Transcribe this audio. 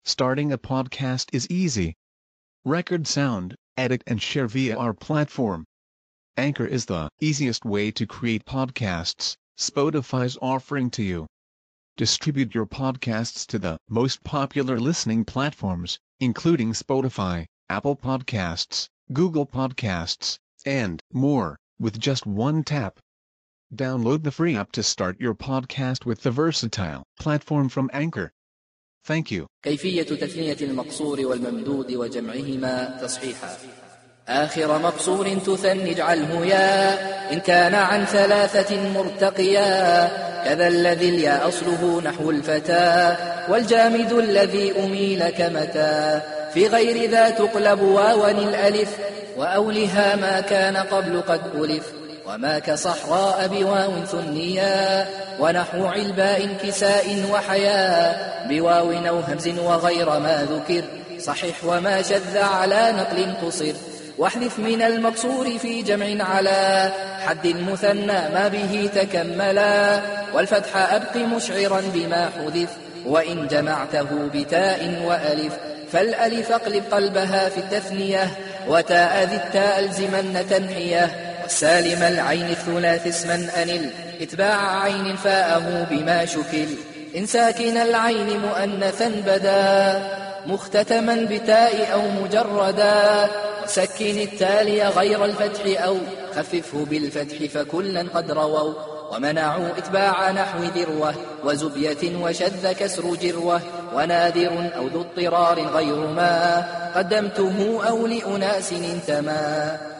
Starting a podcast is easy. Record sound, edit and share via our platform. Anchor is the easiest way to create podcasts Spotify's offering to you. Distribute your podcasts to the most popular listening platforms, including Spotify, Apple Podcasts, Google Podcasts, and more, with just one tap. Download the free app to start your podcast with the versatile platform from Anchor. Thank you. كيفية تثنية المقصور والممدود وجمعهما تصحيحا. آخر مقصور تثني اجعله يا إن كان عن 3 مرتقيا، كذا الذي الياء أصله نحو الفتى، والجامد الذي أميل كمتى. في غير ذا تقلب واوا الألف، وأولها ما كان قبل قد ألف، وما كصحراء بواو ثنيا، ونحو علباء كساء وحياء بواو أو همز وغير ما ذكر صحيح، وما شذ على نقل قصر. واحذف من المقصور في جمع على حد مثنى ما به تكملا، والفتح أبق مشعرا بما حذف، وإن جمعته بتاء وألف فالألف اقلب قلبها في التثنية، وتاء ذي التاء ألزمن تنحية. والسالم العين الثلاث اسما أنل اتباع عين فاءه بما شكل، إن ساكن العين مؤنثا بدا مختتما بتاء أو مجردا، وسكن التالي غير الفتح أو خففه بالفتح فكلا قد رووا. ومنعوا اتباع نحو ذروة وزبية وشذ كسر جروة، ونادر أو ذو اضطرار غير ما قدمته أو لأناس انتما.